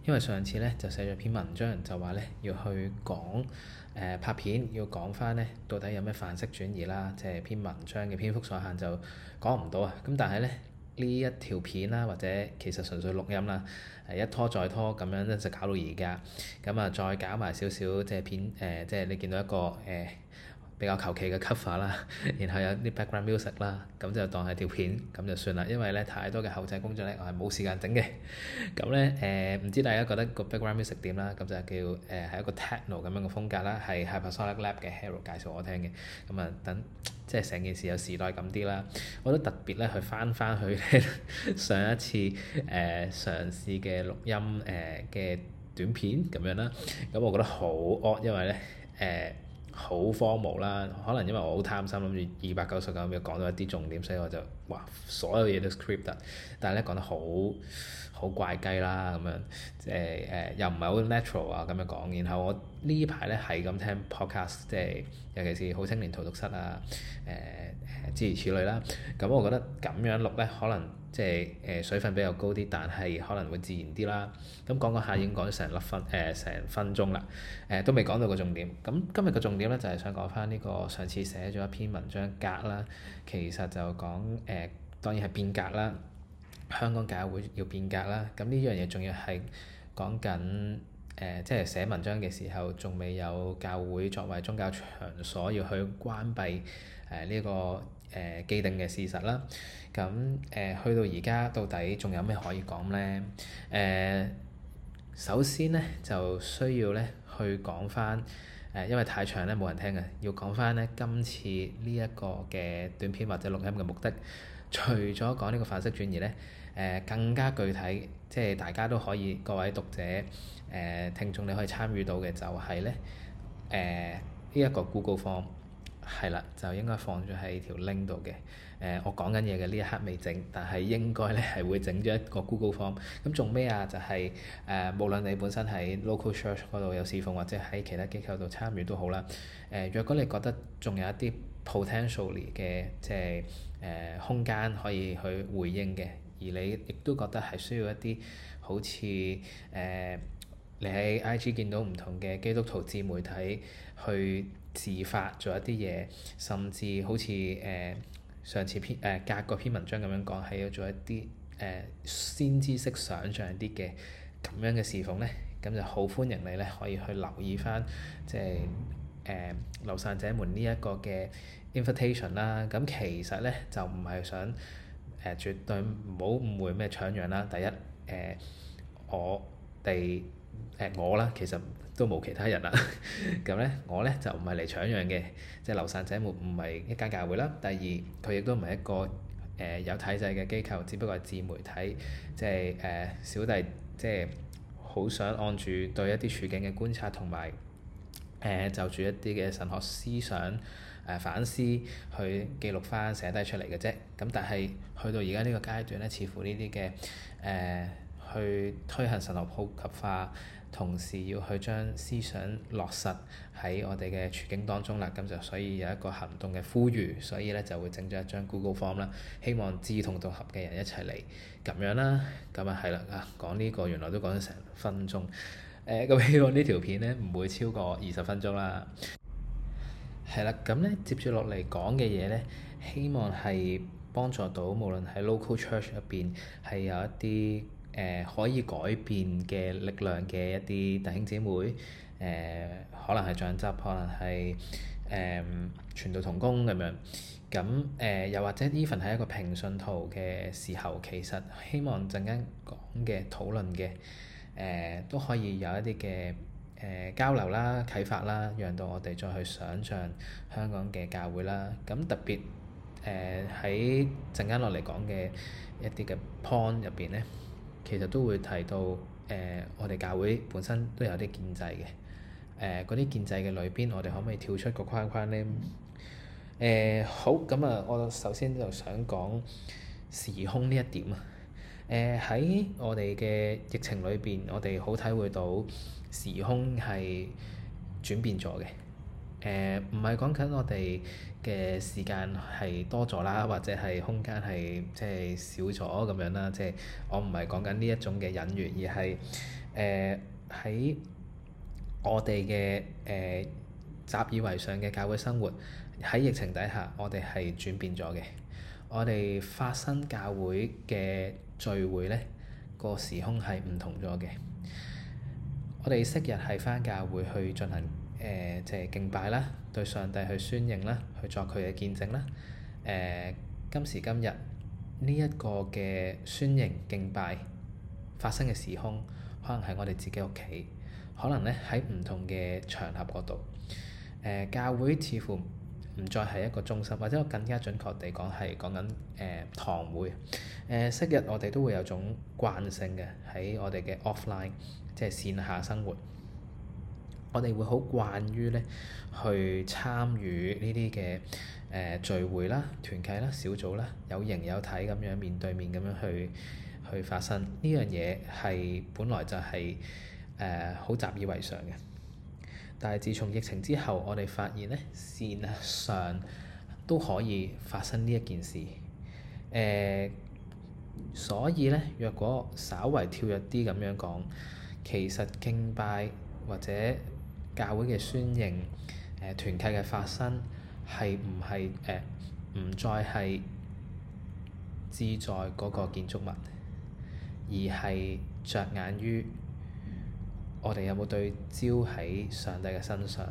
因為上次咧就寫咗篇文章，就話咧要去講拍片，要講翻咧到底有咩範式轉移啦，即係篇文章嘅篇幅所限就講唔到啊。咁但係咧呢一條片啦，或者其實純粹錄音啦，一拖再拖咁樣咧就搞到而家，咁啊再搞埋少少即係片即係你見到一個比較求其嘅 cover 啦，然後有啲 background music 啦，咁就當係條片咁就算啦。因為咧太多嘅後製工作咧，我係冇時間整嘅。咁咧唔知大家覺得個 background music 點啦？咁就叫係一個 techno 咁樣嘅風格啦，係 Hypersonic Lab 嘅 Hero 介紹我聽嘅。咁啊等即係成件事有時代感啲啦。我都特別咧去翻去上一次嘗試嘅錄音嘅短片咁樣啦。咁我覺得好惡，因為咧好荒謬啦，可能因為我好貪心，諗住299秒講到一啲重點，所以我就哇所有嘢都 script 得，但係咧講得好怪雞啦咁樣，即係又唔係好 natural 啊咁樣講。然後我呢排咧係咁聽 podcast，即係尤其是好青年荼毒室啊，諸如此類啦。咁我覺得咁樣錄咧，可能即係水分比較高啲，但係可能會自然啲啦。咁講下已經講咗成分鐘啦，都未講到個重點。咁今日個重點咧就係想講翻呢個上次寫咗一篇文章格啦，其實就講當然係變革啦，香港教會要變革啦。咁呢樣嘢仲要係講緊即係寫文章嘅時候，仲未有教會作為宗教場所要去關閉呢個既定嘅事實啦。咁去到而家到底仲有咩可以講咧？首先咧就需要咧去講翻因為太長咧冇人聽嘅，要講翻咧今次呢一個嘅短片或者錄音嘅目的，除咗講呢個範式轉移咧，更加具體，即係大家都可以各位讀者聽眾你可以參與到嘅就係咧呢一個 Google Form 係啦，就應該放咗喺條 link 度嘅。我講緊嘢嘅呢一刻未整，但係應該咧係會整咗一個 Google Form。咁做咩啊？就係無論你本身喺 local church 嗰度有侍奉，或者喺其他機構度參與都好啦。若果你覺得仲有一啲 potentially 嘅即係空間可以去回應嘅，而你亦都覺得係需要一啲好似你喺 IG 見到唔同嘅基督徒自媒體去自發做一啲嘢，甚至好似上次隔個篇文章咁樣講，係要做一啲先知式想像啲嘅咁樣嘅侍奉咧，咁就好歡迎你咧可以去留意翻即係流散者們呢一個嘅 invitation 啦。咁其實咧就唔係想絕對唔好誤會咩搶羊啦。第一我啦，其實都冇其他人啦。咁咧，我咧就唔係嚟搶羊嘅，即係流散者們唔係一間教會啦。第二，佢亦都唔係一個有體制嘅機構，只不過係自媒體，即係小弟即係好想按住對一啲處境嘅觀察同埋就住一啲嘅神學思想反思去記錄翻寫低出嚟嘅啫。咁但係去到而家呢個階段咧，似乎呢啲嘅去推行神學普及化，同時要去將思想落實喺我哋嘅處境當中啦。咁就所以有一個行動嘅呼籲，所以咧就會整咗一張 Google Form 啦，希望志同道合嘅人一齊嚟咁樣啦。咁啊係啦，講呢個原來都講咗成分鐘。咁希望呢條片咧唔會超過20分鐘啦。係啦，咁咧接住落嚟講嘅嘢咧，希望係幫助到無論喺 local church 入邊係有一啲可以改變嘅力量嘅一啲弟兄姊妹，可能係長執，可能係傳道同工咁樣。咁又或者 even 係一個平信徒嘅時候，其實希望陣間講嘅討論嘅都可以有一啲嘅交流啦、啟發啦，讓到我哋再去想像香港嘅教會啦。咁特別喺陣間落嚟講嘅一啲嘅 point 入邊咧，其實都會提到我哋教會本身都有啲建制嘅。嗰啲建制嘅裏邊，我哋可唔可以跳出個框框咧？好，咁啊，我首先就想講時空呢一點啊。喺我哋嘅疫情裏邊，我哋好體會到時空係轉變咗嘅。 唔係講緊我哋嘅時間係多咗啦，或者係空間係即係少咗咁樣啦。即係我唔係講緊呢一種嘅隱喻，而係喺我哋嘅習以為常嘅教會生活喺疫情底下，我哋係轉變咗嘅。我哋發生教會嘅聚會呢，個時空係唔同咗嘅。我哋昔日係返教會去進行即係敬拜啦，對上帝去宣認啦，去作佢嘅見證啦。今時今日呢一個嘅宣認敬拜發生嘅時空，可能係我哋自己屋企，可能咧喺唔同嘅場合嗰度。教會似乎唔再係一個中心，或者我更加準確地講係講緊堂會。昔日我哋都會有種慣性嘅喺我哋嘅 offline，即係線下生活。我哋會好慣於咧去參與呢啲嘅聚會啦、團契啦、小組啦，有形有體咁樣面對面咁樣去發生呢樣嘢，係本來就係好習以為常嘅。但係自從疫情之後，我哋發現咧線上都可以發生呢一件事。所以咧，若果稍為跳躍啲咁樣講，其實敬拜或者教會嘅宣認、團契嘅發生係唔係唔再係志在嗰個建築物，而係着眼於我哋有冇對焦喺上帝嘅身上。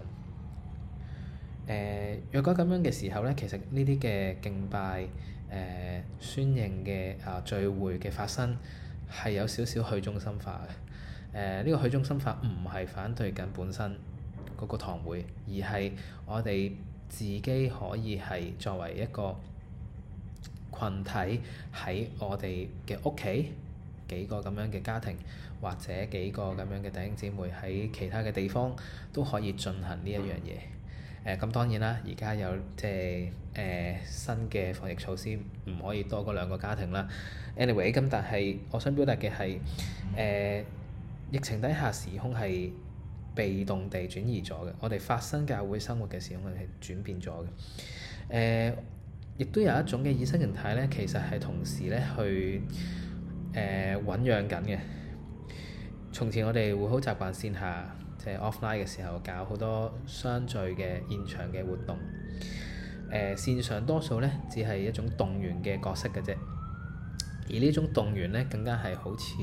若果咁樣嘅時候咧，其實呢啲嘅敬拜、宣認嘅聚會嘅發生係有少少去中心化嘅。呢個去中心化唔係反對緊本身嗰個堂會，而係我哋自己可以係作為一個群體喺我哋嘅屋企，幾個咁樣嘅家庭，或者幾個咁樣嘅弟兄姊妹喺其他嘅地方都可以進行呢一樣嘢。咁當然啦，而家有即係新嘅防疫措施，唔可以多過2個家庭啦。Anyway，咁但係我想表達嘅係疫情底下時空係被動地轉移咗嘅，我哋發生教會生活嘅時空係轉變咗嘅。亦都有一種嘅意識形態咧，其實係同時咧去醖釀緊嘅。從前我哋會好習慣線下，即係 offline 嘅時候搞好多相聚嘅現場嘅活動。線上多數咧只係一種動員嘅角色嘅啫，而呢種動員咧更加係好似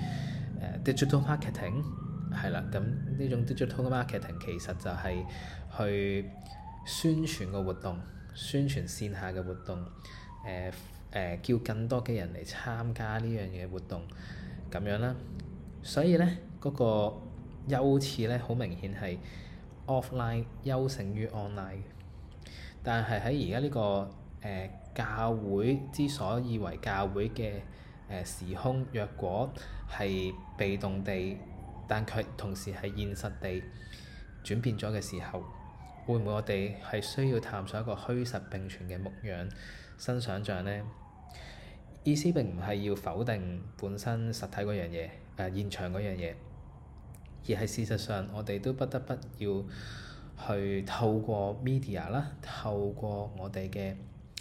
digital marketing 係啦。咁呢種 digital marketing 其實就係去宣傳個活動，宣傳線下嘅活動，叫更多嘅人嚟參加呢樣嘢活動咁樣啦。所以咧嗰個優次咧好明顯係 offline 優勝於 online。但係喺而家呢個教會之所以為教會嘅時空，若果係被動地，但佢同時係現實地轉變咗嘅時候，會唔會我哋係需要探索一個虛實並存嘅牧養新想像呢？意思並唔係要否定本身實體嗰樣嘢，現場嗰樣嘢，而係事實上我哋都不得不要去透過 media 啦，透過我哋嘅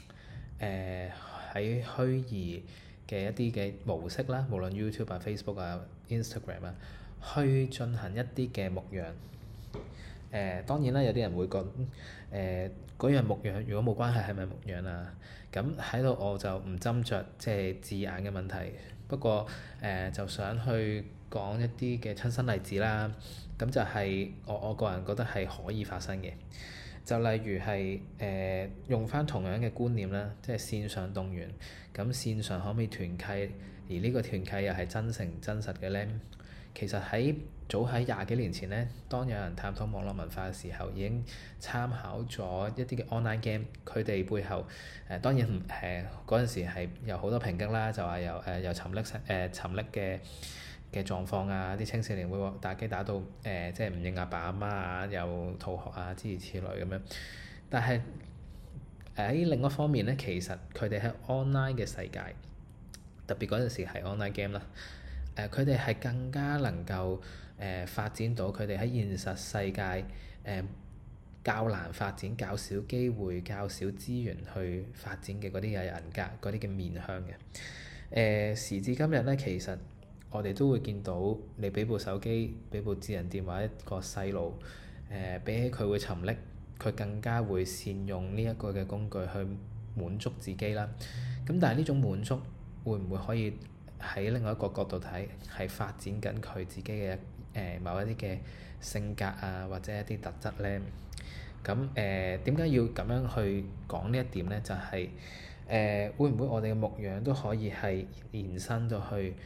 喺虛擬嘅一啲嘅模式啦，無論 YouTube 啊、Facebook 啊、Instagram 啊，去進行一啲嘅牧養。當然啦，有啲人會講嗰樣牧養，如果冇關係係咪牧養啊？咁喺度我就唔斟酌即係字眼嘅問題。不過就想去講一啲嘅親身例子啦。咁就係我個人覺得係可以發生嘅。就例如係用返同樣嘅觀念啦，即係線上動員。咁線上可唔可以團契？而呢個團契又係真誠真實嘅咧？其實早喺20幾年前咧，當有人探討網絡文化嘅時候，已經參考咗一啲嘅 online game。佢哋背後當然嗰陣時係有好多抨擊啦，就話有沉溺嘅狀況啊，啲青少年會打機打到即係唔認阿爸阿媽啊，又逃學啊，諸如此類咁樣。但係喺另一方面咧，其實佢哋喺 online 嘅世界，特別嗰陣時係 online game 啦。佢哋係更加能夠發展到佢哋喺現實世界較難發展、較少機會、較少資源去發展嘅嗰啲嘅人格、嗰啲嘅面向嘅。時至今日咧，其實我哋都會見到你俾部手機、俾部智能電話一個細路，比起佢會沉溺，佢更加會善用呢一個嘅工具去滿足自己啦。咁但係呢種滿足會唔會可以喺另外一個角度睇，係發展緊佢自己嘅某一啲嘅性格啊，或者一啲特質咧？咁點解要咁樣去講呢一點咧？就係會唔會我哋嘅牧養都可以係延伸到去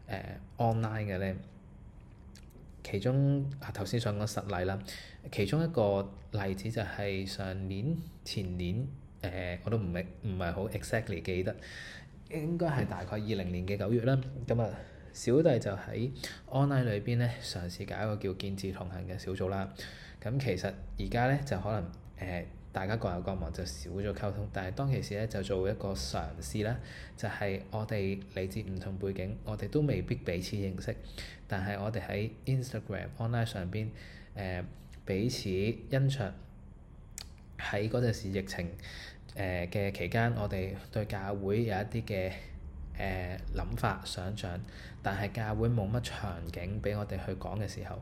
online 嘅咧？其中頭先想講實例啦，其中一個例子就係上年前年我都唔係好 exactly 記得，應該係大概20年嘅9月啦。咁啊，小弟就喺 online 裏邊咧嘗試搞一個叫見智同行嘅小組啦。咁其實而家咧就可能大家各有各忙，就少咗溝通。但係當其時咧就做一個嘗試啦，就係我哋嚟自唔同背景，我哋都未必彼此認識，但係我哋喺 Instagram online 上邊彼此欣賞。喺嗰陣時疫情嘅期間，我哋對教會有一啲嘅諗法、想像，但係教會冇乜場景俾我哋去講嘅時候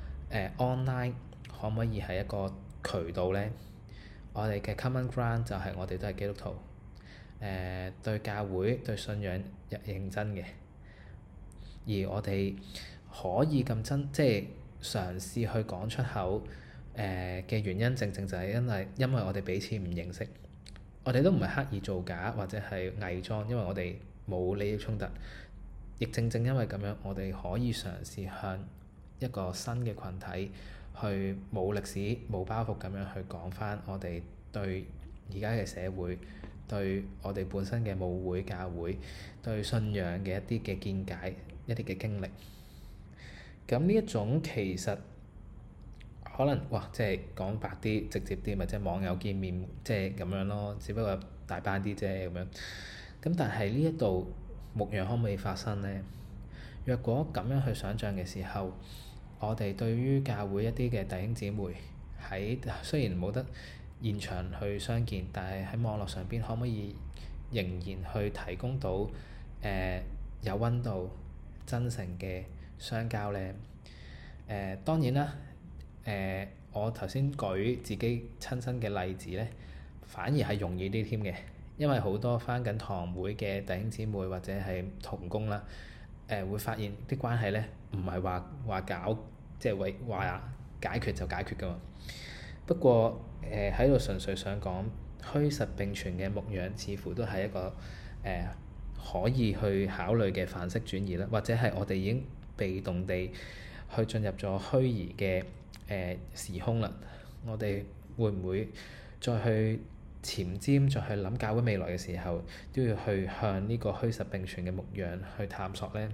，online 可唔可以係一個渠道咧？我哋嘅 common ground 就係我哋都係基督徒，對教會對信仰認真嘅，而我哋可以咁真，即係嘗試去講出口嘅原因，正正就係因為我哋彼此唔認識，我哋都唔係刻意造假或者係偽裝，因為我哋冇利益衝突，亦正正因為咁樣，我哋可以嘗試向一個新嘅群體去冇歷史冇包袱咁樣去講返我哋對而家嘅社會，對我哋本身嘅母會教會，對信仰嘅一啲嘅見解，一啲嘅經歷。咁呢一種其實可能即係講白啲、直接啲，咪即係網友見面即係咁樣咯，只不過大班啲啫咁樣。咁但係呢一度牧養可唔可以發生咧？若果咁樣去想像嘅時候，我哋對於教會一啲嘅弟兄姊妹喺雖然冇得現場去相見，但係喺網絡上邊可唔可以仍然去提供到有溫度、真誠嘅相交咧？當然啦，我頭先舉自己親身嘅例子咧，反而係容易啲添嘅，因為好多返緊堂會嘅弟兄姊妹或者係同工啦，會發現啲關係咧唔係話搞即係話解決就解決㗎嘛。不過喺度純粹想講虛實並存嘅牧養，似乎都係一個可以去考慮嘅範式轉移啦，或者係我哋已經被動地去進入咗虛擬嘅時空啦。我哋會唔會再去前瞻，再去諗教會未來嘅時候，都要去向呢個虛實並存嘅牧養去探索咧？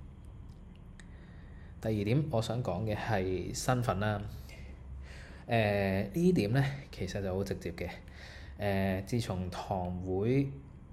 第二點我想講嘅係身份啦。呢點咧其實就好直接嘅。自從堂會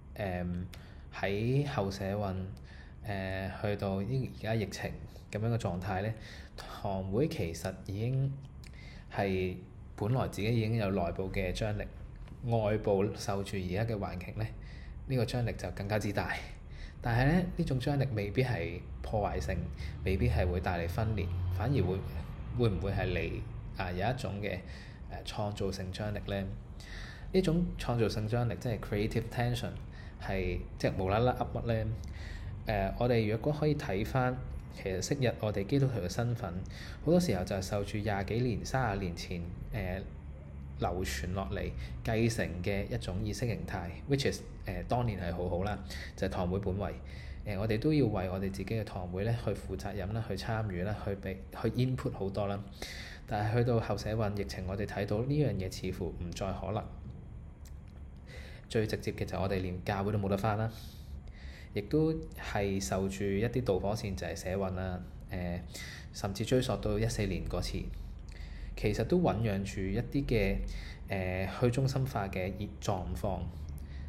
喺後社運去到而家疫情咁樣嘅狀態咧，堂會其實已經係本來自己已經有內部嘅張力，外部受住而家嘅環境咧，呢個張力就更加之大。但係咧，呢種張力未必係破壞性，未必係會帶嚟分裂，反而會唔會係嚟有一種嘅創造性張力咧？呢種創造性張力即係 creative tension， 係即係無啦啦噏乜咧？我哋若果可以睇返，其實昔日我哋基督徒嘅身份，好多時候就係受住20幾年、30年前流傳落嚟繼承嘅一種意識形態 ，which is 當年係好好啦，就係堂會本位。我哋都要為我哋自己嘅堂會咧去負責任啦，去參與啦，去 input 好多啦。但係去到後社運疫情，我哋睇到呢樣嘢似乎唔再可能。最直接嘅就係我哋連教會都冇得返啦，亦都係受住一啲導火線就係社運啦。甚至追溯到14年嗰次，其實都醖釀住一啲嘅去中心化嘅狀況。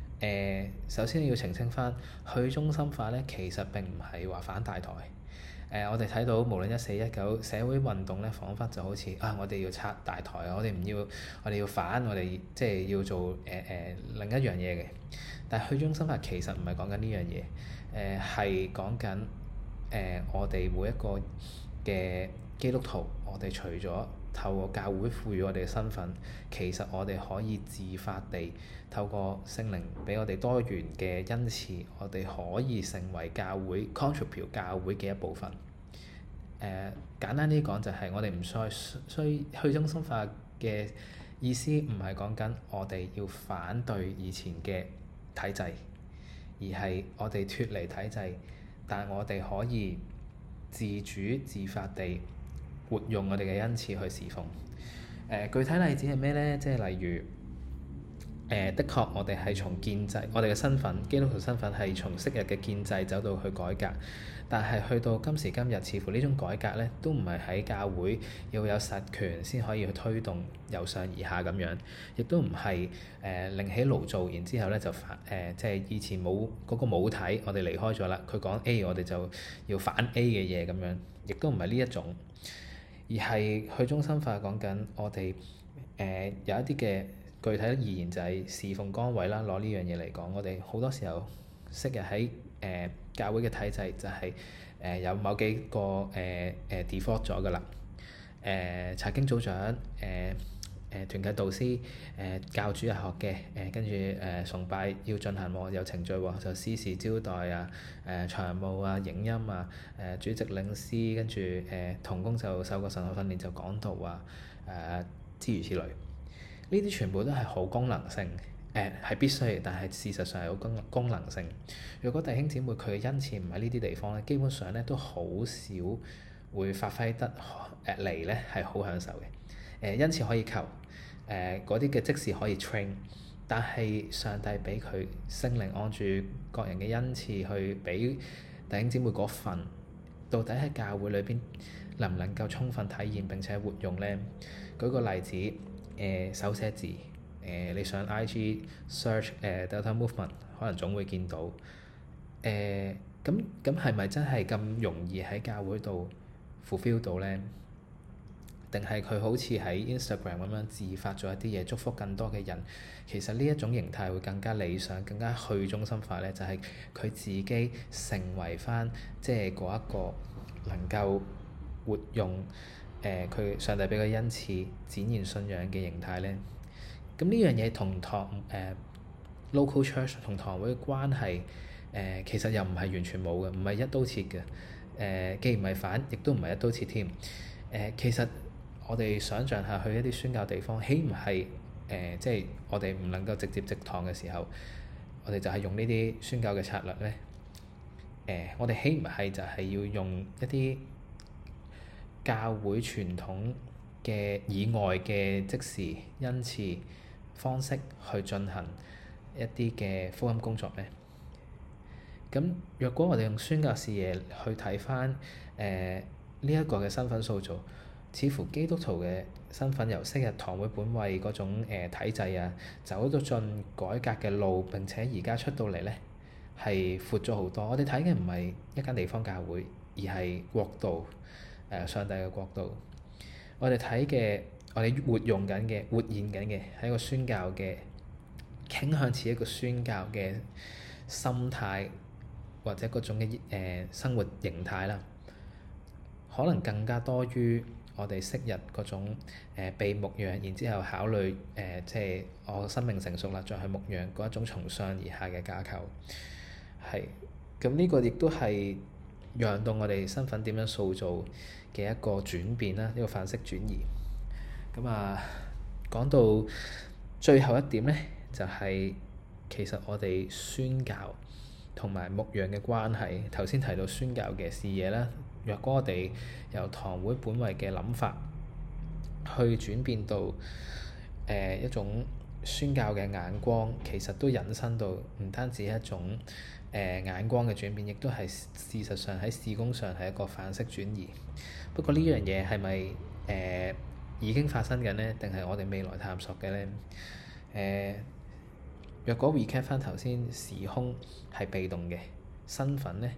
首先要澄清返，去中心化咧，其實並唔係話反大台。 我哋睇到無論1419社會運動咧，彷彿就好似我哋要拆大台啊，我哋唔要，我哋要反，我哋即係要做另一樣嘢嘅。但係去中心化其實唔係講緊呢樣嘢，係講緊我哋每一個嘅基督徒，我哋除咗透過教會賦予我哋嘅身份，其實我哋可以自發地透過聖靈俾我哋多元嘅恩賜，我哋可以成為教會 contribute 教會嘅一部分。簡單啲講就係我哋唔再需去中心化嘅意思，唔係講緊我哋要反對以前嘅體制，而係我哋脫離體制，但我哋可以自主自發地活用我哋嘅恩賜去侍奉。具體例子係咩呢？即係例如的確我哋係從建制，我哋嘅身份基督徒身份係從昔日嘅建制走到去改革，但係去到今時今日，似乎呢種改革呢都唔係喺教會要有實權先可以去推動由上而下咁樣，亦都唔係另起爐灶，然之後呢就即係以前冇嗰個母體，我哋離開咗啦，佢講 A 我哋就要反 A 嘅嘢咁樣，亦都唔係呢一種，而係去中心化講緊我哋有一啲嘅具體而言就係侍奉崗位啦。攞呢樣嘢嚟講，我哋好多時候昔日喺教會嘅體制就係有某幾個default 咗㗎啦。查經組長、團契導師、教主日學嘅，跟住崇拜要進行喎，有程序喎，就司事招待啊、長務啊、影音啊、主席領詩，跟住同工就受過神學訓練就講道啊，諸如此類。呢啲全部都係好功能性，係必須嘅，但係事實上係好功能性。如果弟兄姊妹佢嘅恩賜唔喺呢啲地方咧，基本上咧都好少會發揮得嚟咧係好享受嘅。恩賜可以求，嗰啲嘅即時可以 train，但係上帝俾佢聖靈按住各人嘅恩賜去俾弟兄姊妹嗰份，到底喺教會裏邊能唔能夠充分體驗並且活用咧？舉個例子。手寫字，你上 IG search Delta Movement，可能總會見到。咁係咪真係咁容易喺教會度 fulfill 到咧？定係佢好似喺 Instagram 咁樣自發咗一啲嘢，祝福更多嘅人？其實呢一種形態會更加理想，更加去中心化咧，就係佢自己成為返即係嗰一個能夠活用。佢上帝俾個恩賜展現信仰嘅形態咧，咁呢樣嘢同local church 同堂會嘅關係其實又唔係完全冇嘅，唔係一刀切嘅。既唔係反，亦都唔係一刀切添。其實我哋想像下去一啲宣教地方，豈唔係即係我哋唔能夠直接植堂嘅時候，我哋就係用呢啲宣教嘅策略咧？我哋豈唔係就係要用一啲教會傳統嘅以外嘅即時恩賜方式去進行一啲嘅福音工作咧？咁若果我哋用宣教視野去睇返呢一個嘅身份塑造，似乎基督徒嘅身份由昔日堂會本位嗰種體制啊，走到進改革嘅路，並且而家出到嚟咧係闊咗好多。我哋睇嘅唔係一間地方教會，而係國度。上帝嘅國度，我哋睇嘅，我哋活用緊嘅、活現緊嘅，係一個宣教嘅傾向，似一個宣教嘅心態，或者嗰種嘅生活形態啦。可能更加多於我哋昔日嗰種被牧養，然之後考慮即係我生命成熟啦，再去牧養嗰一種從上而下嘅架構。係，咁呢個亦都係讓到我哋身份點樣塑造嘅一個轉變啦，呢個範式轉移。咁講到最後一點咧，就係其實我哋宣教同埋牧養嘅關係。頭先提到宣教嘅視野啦，若果我哋由堂會本位嘅諗法去轉變到一種宣教嘅眼光，其實都引申到唔單止一種眼光嘅轉變，亦都係事實上喺事工上係一個範式轉移。不過呢樣嘢係咪已經發生緊呢？定係我哋未來探索嘅呢？若果 recap 翻頭先，時空係被動嘅，身份呢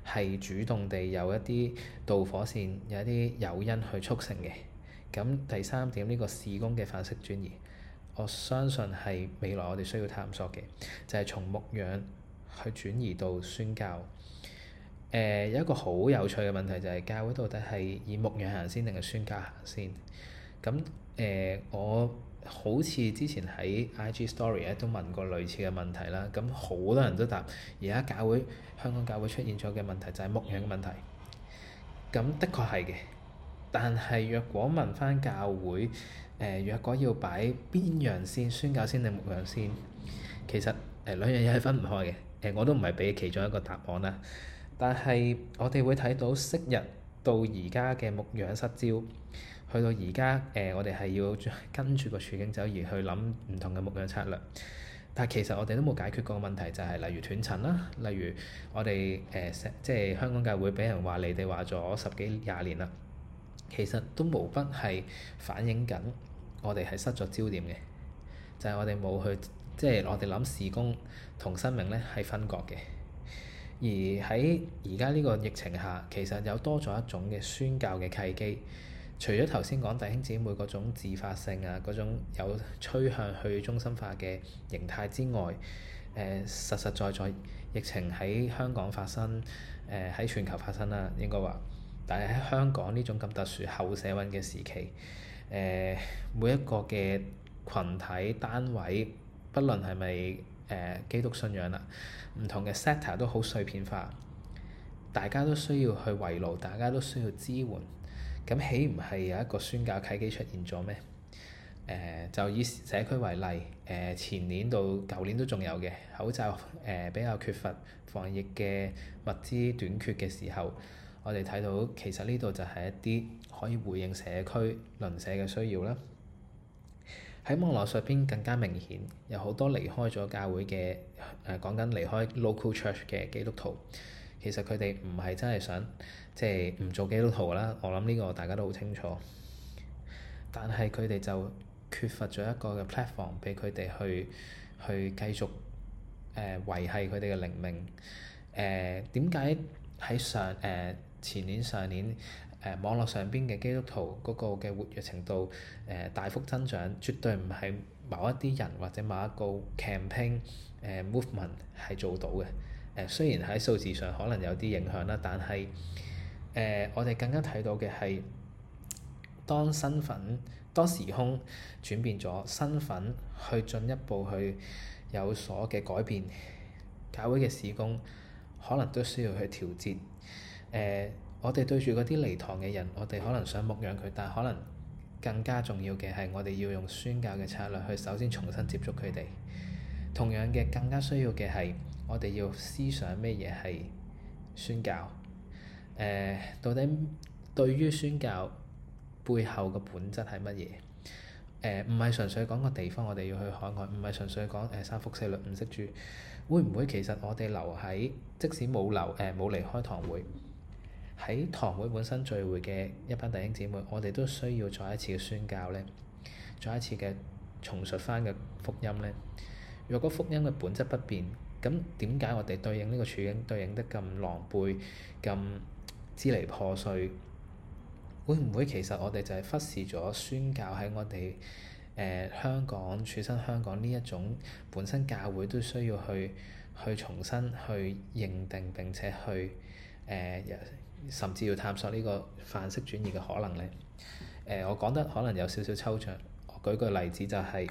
係主動地有一啲導火線，有一啲誘因去促成嘅。咁第三點，呢個事工嘅範式轉移，我相信係未來我哋需要探索嘅，就係從牧養去轉移到宣教。有一個好有趣嘅問題就係教會到底係以牧養行先定係宣教行先？咁我好似之前喺 IG Story 咧都問過類似嘅問題啦。咁好多人都答，而家香港教會出現咗嘅問題就係牧養嘅問題。咁的確係嘅，但係若果問翻教會，若果要擺邊樣先，宣教先定牧養先？其實兩樣嘢係分唔開嘅。我都唔係俾其中一個答案啦。但係我哋會睇到昔日到而家嘅牧養失焦，去到而家我哋係要跟住個處境走而去諗唔同嘅牧養策略。但係其實我哋都冇解決過個問題，就係例如斷層啦，例如我哋即係香港教會俾人話你哋話咗10幾20年啦，其實都無不係反映緊我哋係失咗焦點嘅，就係我哋冇去即係我哋諗事工同生命咧係分割嘅。而喺而家呢個疫情下，其實有多咗一種嘅宣教嘅契機。除咗頭先講弟兄姊妹嗰種自發性啊，嗰種有趨向去中心化嘅形態之外，實實在在疫情喺香港發生，喺全球發生啦，應該話。但係喺香港呢種咁特殊後社運嘅時期，每一個嘅群體單位，不論係咪基督信仰啦，唔同嘅 sector 都好碎片化，大家都需要去圍爐，大家都需要支援。咁豈唔係有一個宣教契機出現咗咩？就以社區為例，前年到舊年都仲有嘅口罩，比較缺乏防疫嘅物資短缺嘅時候，我哋睇到其實呢度就係一啲可以回應社區鄰舍嘅需要啦。喺網絡上邊更加明顯，有好多離開咗教會嘅講緊離開 local church 嘅基督徒，其實佢哋唔係真係想即係唔做基督徒啦。我諗呢個大家都好清楚，但係佢哋就缺乏咗一個嘅 platform 俾佢哋去繼續維係佢哋嘅靈命。點解喺前年上年網絡上邊嘅基督徒嗰個嘅活躍程度大幅增長，絕對唔係某一啲人或者某一個 campaign movement 係做到嘅。雖然喺數字上可能有啲影響啦，但係我哋更加睇到嘅係當時空轉變咗，身份去進一步去有所嘅改變，教會嘅事工可能都需要去調節。我哋對住嗰啲離堂嘅人，我哋可能想牧養佢，但可能更加重要嘅係我哋要用宣教嘅策略去首先重新接觸佢哋。同樣嘅，更加需要嘅係我哋要思想咩嘢係宣教。到底對於宣教背後嘅本質係乜嘢？唔係純粹講個地方，我哋要去海外，唔係純粹講三福四律五識主。會唔會其實我哋留喺，即使冇離開堂會，喺堂會本身聚會嘅一班弟兄姊妹，我哋都需要再一次嘅宣教咧，再一次嘅重述翻嘅福音咧。若果福音嘅本質不變，咁點解我哋對應呢個處境對應得咁狼狽、咁支離破碎？會唔會其實我哋就係忽視咗宣教喺我哋香港處身香港呢一種本身教會都需要去重新去認定並且去甚至要探索呢個範式轉移嘅可能咧？我講得可能有少少抽象，我舉個例子就係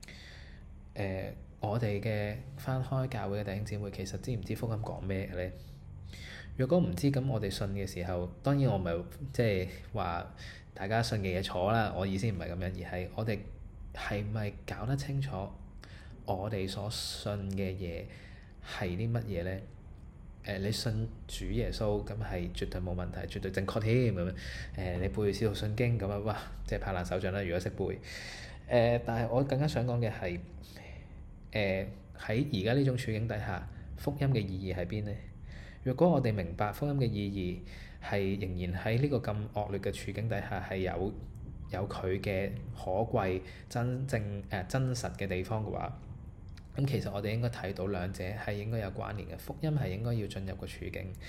我哋嘅返開教會嘅弟兄姊妹，其實知唔知福音講咩嘅咧？若果唔知，咁我哋信嘅時候，當然我唔係即係話大家信嘅嘢錯啦。我意思唔係咁樣，而係我哋係咪搞得清楚我哋所信嘅嘢係啲乜嘢咧？你信主耶穌咁係絕對冇問題，絕對正確添咁樣。你背《使徒信經》咁啊，哇！即係拍爛手掌啦，如果識背。但係我更加想講嘅係喺而家呢種處境底下，福音嘅意義喺邊咧？若果我哋明白福音嘅意義係仍然喺呢個咁惡劣嘅處境底下係有佢嘅可貴真實嘅地方嘅話，咁其實我哋應該睇到兩者係應該有關聯嘅。福音係應該要進入個處境，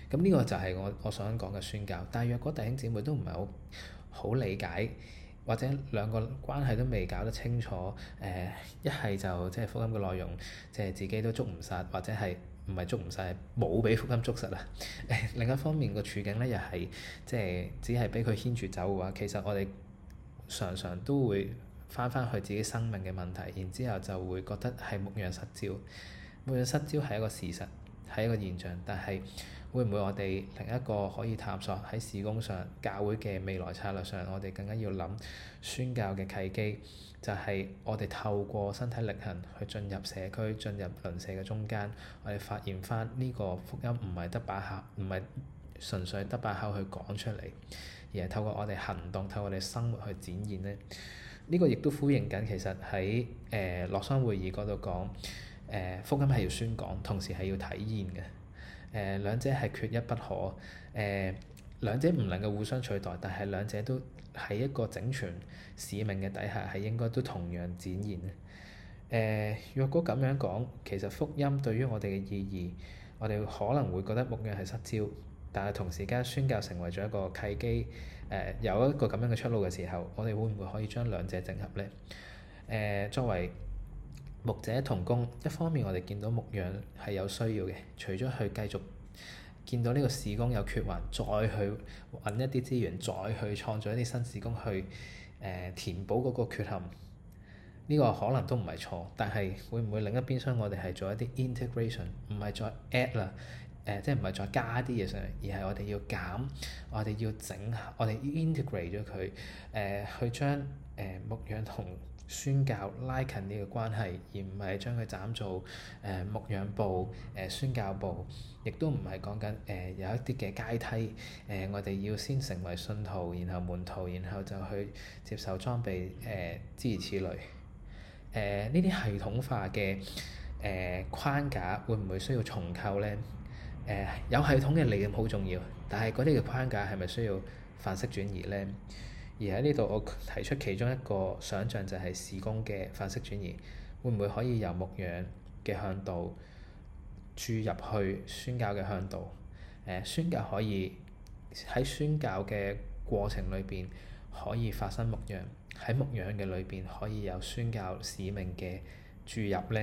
咁呢個就係我想講嘅宣教。但係若果弟兄姊妹都唔係好理解，或者兩個關係都未搞得清楚，一係就即係福音嘅內容，即係自己都捉唔實，或者係唔係捉唔實，冇俾福音捉實啊！另一方面個處境咧，又係即係只係俾佢牽住走嘅話，其實我哋常常都會翻去自己生命嘅問題，然之後就會覺得係牧養失焦。牧養失焦係一個事實，係一個現象，但係會唔會我哋另一個可以探索喺事工上、教會嘅未來策略上，我哋更加要諗宣教嘅契機，就係我哋透過身體力行去進入社區、進入鄰舍嘅中間，我哋發現翻呢個福音唔係得把口，唔係純粹得把口去講出嚟，而係透過我哋行動、透過我哋生活去展現咧。呢個亦都呼應緊，其實喺洛桑會議嗰度講，福音係要宣講，同時係要體現嘅。兩者係缺一不可。兩者唔能夠互相取代，但係兩者都喺一個整全使命嘅底下，係應該都同樣展現。若果咁樣講，其實福音對於我哋嘅意義，我哋可能會覺得牧養係失焦，但係同時間宣教成為咗一個契機。有一個咁樣嘅出路嘅時候，我哋會唔會可以將兩者整合呢？作為牧者同工，一方面我哋見到牧養係有需要嘅，除咗去繼續見到呢個事工有缺環，再去揾一啲資源，再去創造一啲新事工去填補嗰個缺陷，呢個可能都唔係錯。但係會唔會另一邊廂我哋係做一啲 integration，唔係再 add 啦？即係唔係再加啲嘢上嚟，而係我哋要減，我哋要整，我哋要 integrate 咗佢，去將牧養同宣教拉近呢個關係，而唔係將佢斬做牧養部、宣教部，亦都唔係講緊有一啲嘅階梯，我哋要先成為信徒，然後門徒，然後就去接受裝備，諸如此類。呢啲系統化嘅框架會唔會需要重構咧？有系統嘅理念好重要，但係嗰啲嘅框架係咪需要範式轉移咧？而喺呢度我提出其中一個想像就係事工嘅範式轉移，會唔會可以由牧養嘅向度注入去宣教嘅向度？宣教可以喺宣教嘅過程裏邊可以發生牧養，喺牧養嘅裏邊可以有宣教使命嘅注入咧。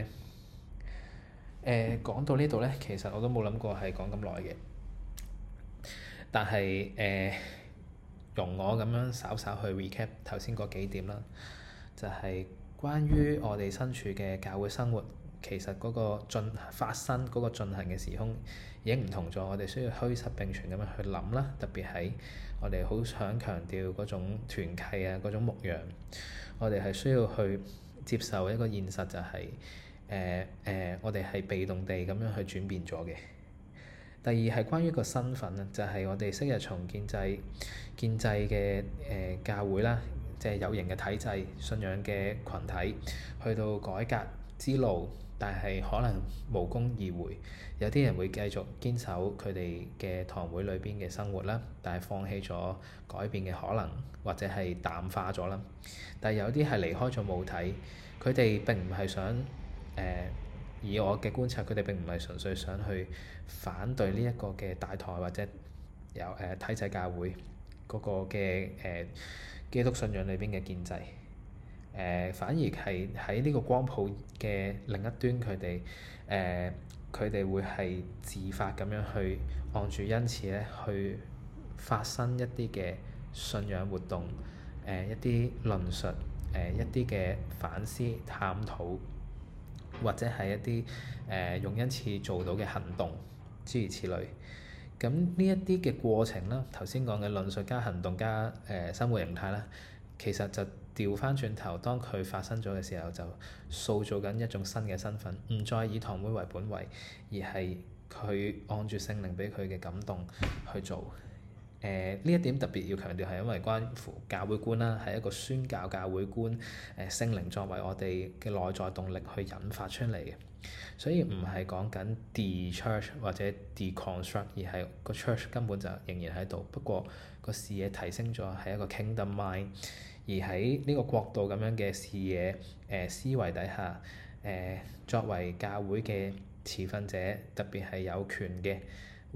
講到呢度咧，其實我都冇諗過係講咁耐嘅，但係容我咁樣稍稍去 recap 頭先嗰幾點啦，就係關於我哋身處嘅教會生活，其實嗰個發生嗰個進行嘅時空已經唔同咗，我哋需要虛實並存咁樣去諗啦，特別係我哋好想強調嗰種團契啊，嗰種牧養，我哋係需要去接受一個現實，就係我哋係被動地咁樣去轉變咗嘅。第二係關於個身份啊，就係我哋昔日從建制嘅教會啦，即係有形嘅體制、信仰嘅群體，去到改革之路，但係可能無功而回。有啲人會繼續堅守佢哋嘅堂會裏邊嘅生活啦，但係放棄咗改變嘅可能，或者係淡化咗啦。但係有啲係離開咗母體，佢哋並唔係想以我嘅觀察，佢哋並唔係純粹想去反對呢一個嘅大台或者有體制教會嗰個嘅基督信仰裏邊嘅建制，反而係喺呢個光譜嘅另一端，佢哋會係自發咁樣去按住恩賜咧去發生一啲嘅信仰活動，一啲論述，一啲嘅反思探討，或者係一啲用恩賜做到嘅行動，諸如此類。咁呢一啲嘅過程啦，頭先講嘅論述加行動加生活形態啦，其實就調翻轉頭，當佢發生咗嘅時候，就塑造緊一種新嘅身份，唔再以堂會為本位，而係佢按住聖靈俾佢嘅感動去做。呢一點特別要強調，係因為關乎教會觀啦，係一個宣教教會觀，聖靈作為我哋嘅內在動力去引發出嚟嘅，所以唔係講緊 de-church 或者 deconstruct，而係個 church 根本就仍然喺度，不過個視野提升咗，係一個 kingdom mind，而喺呢個國度咁樣嘅視野思維底下，作為教會嘅持份者，特別係有權嘅，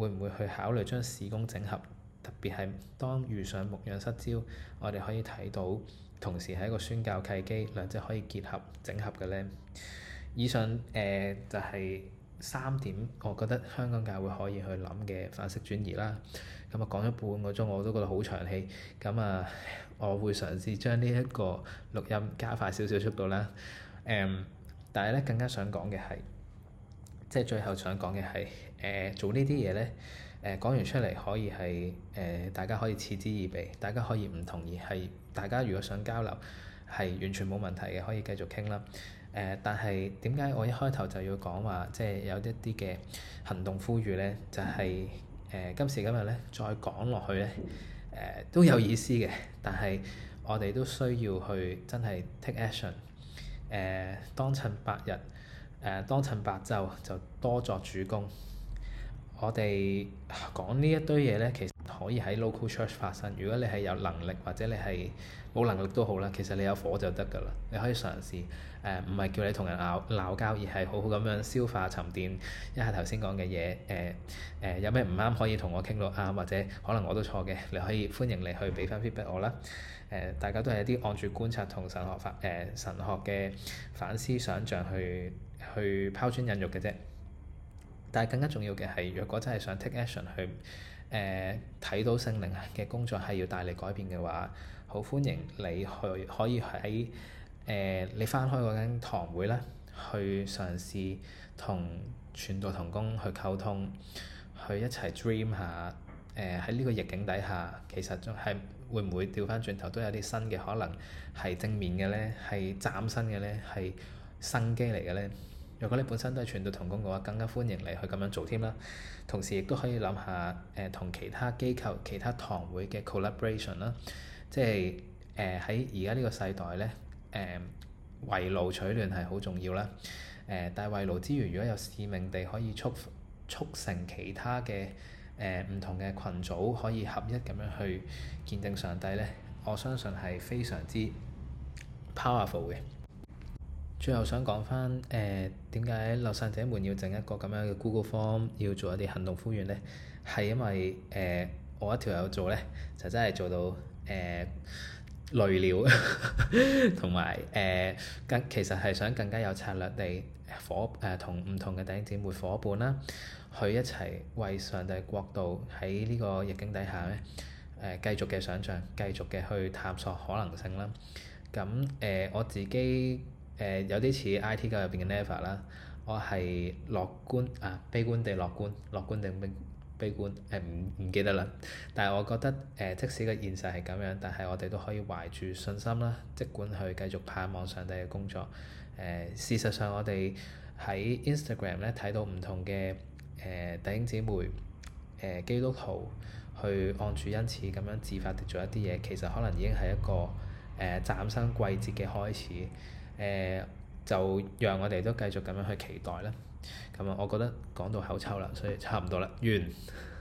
會唔會去考慮將事工整合？特別係當遇上牧養失焦，我哋可以睇到同時係一個宣教契機，兩者可以結合整合嘅呢。以上就係3點，我覺得香港教會可以去諗嘅範式轉移啦。咁啊講咗半個鐘，我都覺得好長氣。咁啊，我會嘗試將呢一個錄音加快少少速度啦。但係咧更加想講嘅係，即係最後想講嘅係做呢啲嘢咧。講完出嚟可以係大家可以嗤之以鼻，大家可以唔同意，係大家如果想交流係完全冇問題嘅，可以繼續傾啦。但係點解我一開頭就要講話，即係有一啲嘅行動呼籲咧，就係今時今日咧再講落去咧都有意思嘅，但係我哋都需要去真係 take action。當趁白日，當趁白晝就多作主工。我哋講呢一堆嘢咧，其實可以喺 local church 發生。如果你係有能力，或者你係冇能力都好啦，其實你有火就得㗎啦。你可以嘗試唔係叫你同人鬧交，而係好好咁樣消化沉澱一下頭先講嘅嘢。有咩唔啱可以同我傾到啱，或者可能我都錯嘅，你可以歡迎你去俾翻 feedback 我啦。大家都係一啲按住觀察同神學嘅反思想像去拋磚引玉嘅啫。但係更加重要嘅係，若果真係想 take action 去睇到聖靈嘅工作係要帶嚟改變嘅話，好歡迎你可以喺你返開嗰間堂會啦，去嘗試同傳道同工去溝通，去一齊 dream 下喺呢個逆境底下，其實仲係會唔會調返轉頭都有啲新嘅可能係正面嘅咧，係嶄新嘅咧，係生機嚟嘅咧。如果你本身都係傳道同工嘅話，更加歡迎你去咁樣做添啦。同時亦都可以諗下同其他機構、其他堂會嘅 collaboration 啦。即係喺而家呢個世代咧，圍爐取暖係好重要啦。但係圍爐之餘，如果有使命地可以促成其他嘅唔同嘅群組可以合一咁樣去見證上帝咧，我相信係非常之 powerful 嘅。最後想講翻點解流散者們要整一個咁樣嘅 Google Form， 要做一啲行動呼籲咧？係因為我一條友做咧，就真係做到累了，同埋其實係想更加有策略地同唔同嘅弟兄姊妹夥伴啦，去一齊為上帝國度喺呢個逆境底下咧繼續嘅想像，繼續嘅去探索可能性啦。咁我自己有啲似 IT 界入邊嘅 Never 啦，我係悲觀地樂觀定悲觀唔記得啦。但係我覺得即使個現實係咁樣，但係我哋都可以懷住信心啦，即管去繼續盼望上帝嘅工作。事實上我哋喺 Instagram 咧睇到唔同嘅弟兄姊妹基督徒去按住恩賜咁樣自發地做一啲嘢，其實可能已經係一個嶄新季節嘅開始。就讓我哋都繼續咁樣去期待啦。咁啊，我覺得講到口臭啦，所以差唔多啦，完。